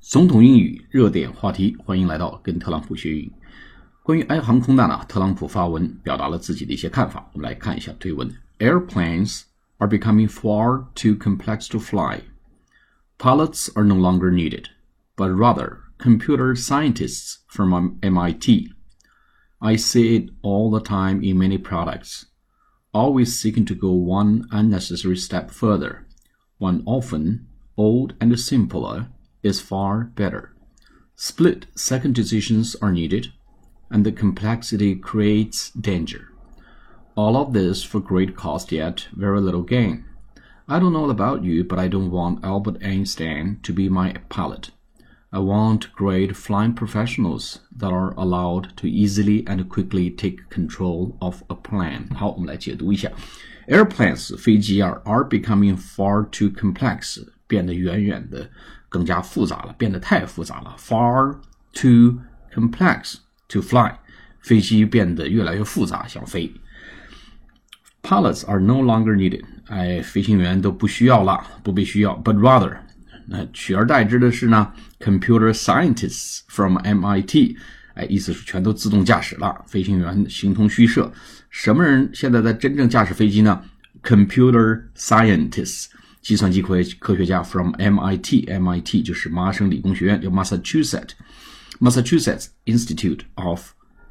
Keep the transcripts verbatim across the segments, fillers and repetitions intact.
总统英语热点话题，欢迎来到跟特朗普学英语。关于 I 航空呢，特朗普发文表达了自己的一些看法，我们来看一下推文。Airplanes are becoming far too complex to fly. Pilots are no longer needed, but rather computer scientists from M I T. I see it all the time in many products, always seeking to go one unnecessary step further, when often old and simpler is far better. Split second decisions are needed, and the complexity creates danger. All of this for great cost yet very little gain. I don't know about you, but I don't want Albert Einstein to be my pilot. I want great flying professionals that are allowed to easily and quickly take control of a plane. 好，我们来解读一下。Airplanes 飞机啊 are becoming far too complex， 变得远远的更加复杂了，变得太复杂了。Far too complex to fly， 飞机变得越来越复杂，想飞。Pilots are no longer needed， 哎，飞行员都不需要了，不被需要。But rather， 那取而代之的是呢 ，computer scientists from M I T， 哎，意思是全都自动驾驶了，飞行员形同虚设。什么人现在在真正驾驶飞机呢 ？Computer scientists。计算机科学科学家 from M I T， M I T 就是麻省理工学院，叫 Massachusetts Massachusetts Institute of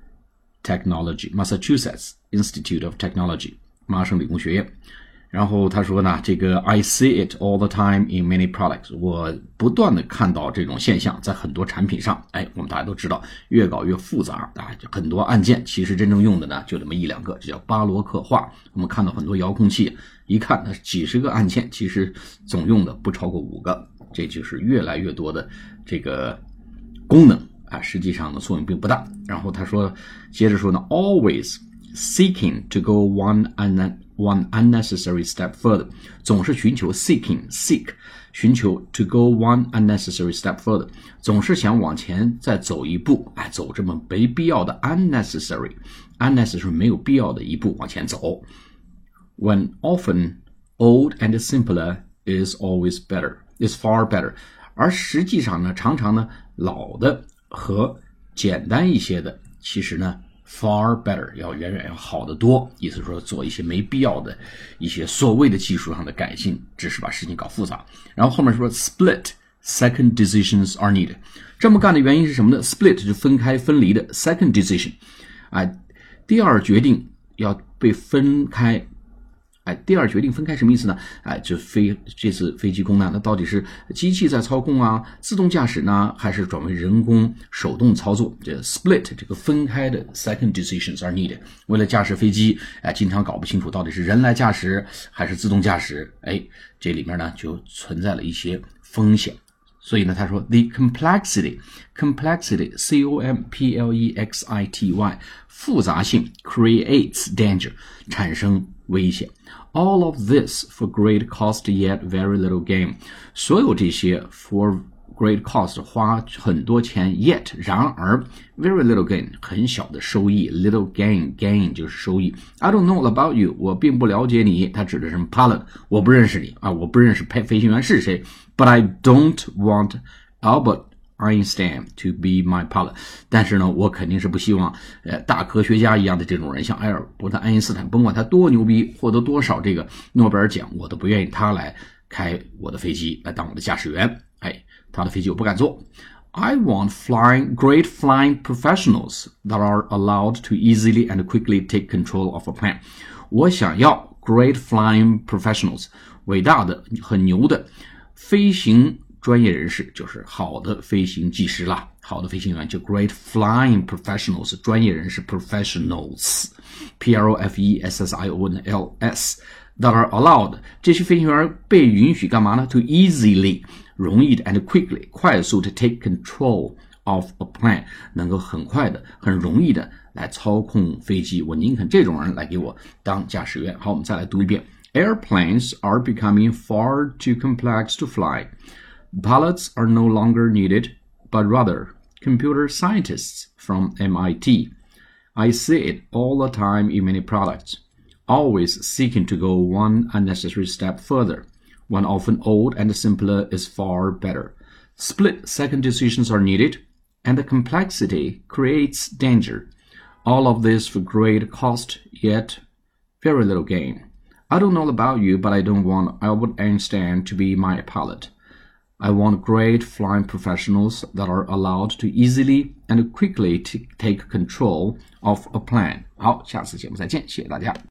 Technology Massachusetts Institute of Technology 麻省理工学院。然后他说呢，这个 I see it all the time in many products， 我不断的看到这种现象在很多产品上。哎，我们大家都知道，越搞越复杂啊，很多按键其实真正用的呢就这么一两个，这叫巴洛克化。我们看到很多遥控器，一看它几十个按键，其实总用的不超过五个，这就是越来越多的这个功能啊，实际上呢作用并不大。然后他说，接着说呢 ，always seeking to go one and one unnecessary step further， 总是寻求 seeking seek 寻求 to go one unnecessary step further， 总是想往前再走一步，哎，走这么没必要的 unnecessary unnecessary 没有必要的一步往前走。When often old and simpler is always better is far better， 而实际上呢，常常呢老的和简单一些的，其实呢far better 要远远要好得多，意思说做一些没必要的一些所谓的技术上的改进，只是把事情搞复杂。然后后面说 split second decisions are needed， 这么干的原因是什么呢？ split 就分开分离的 second decision， 哎，第二决定要被分开。哎，第二决定分开什么意思呢？哎，就飞这次飞机空难，那到底是机器在操控啊，自动驾驶呢，还是转为人工手动操作？这 split 这个分开的 second decisions are needed。为了驾驶飞机，哎，经常搞不清楚到底是人来驾驶还是自动驾驶，哎，这里面呢就存在了一些风险。所以呢，他说 the complexity complexity C O M P L E X I T Y 复杂性 creates danger 产生危险。All of this for great cost yet very little gain， 所有这些 for great cost 花很多钱 yet 然而 very little gain 很小的收益 little gain gain 就是收益。 I don't know about you， 我并不了解你，他指的是 pilot， 我不认识你啊，我不认识飞行员是谁。 But I don't want Albert Einstein to be my pilot， 但是呢我肯定是不希望呃大科学家一样的这种人，像埃尔伯特爱因斯坦，甭管他多牛逼，获得多少这个诺贝尔奖，我都不愿意他来开我的飞机，来当我的驾驶员。哎，他的飞机我不敢坐。 I want flying great flying professionals that are allowed to easily and quickly take control of a plane。 我想要 great flying professionals， 伟大的很牛的飞行专业人士，就是好的飞行技师啦，好的飞行员就 great flying professionals， 专业人士 professionals P R O F E S S I O N L S that are allowed， 这些飞行员被允许干嘛呢？ to easily 容易的 and quickly 快速的 take control of a plane， 能够很快的很容易的来操控飞机，我宁肯这种人来给我当驾驶员。好，我们再来读一遍。Airplanes are becoming far too complex to fly. Pilots are no longer needed, but rather computer scientists from M I T. I see it all the time in many products, always seeking to go one unnecessary step further, when often old and simpler is far better. Split-second decisions are needed, and the complexity creates danger. All of this for great cost, yet very little gain. I don't know about you, but I don't want Albert Einstein to be my pilot. I want great flying professionals that are allowed to easily and quickly t- take control of a plane. 好，下次节目再见，谢谢大家。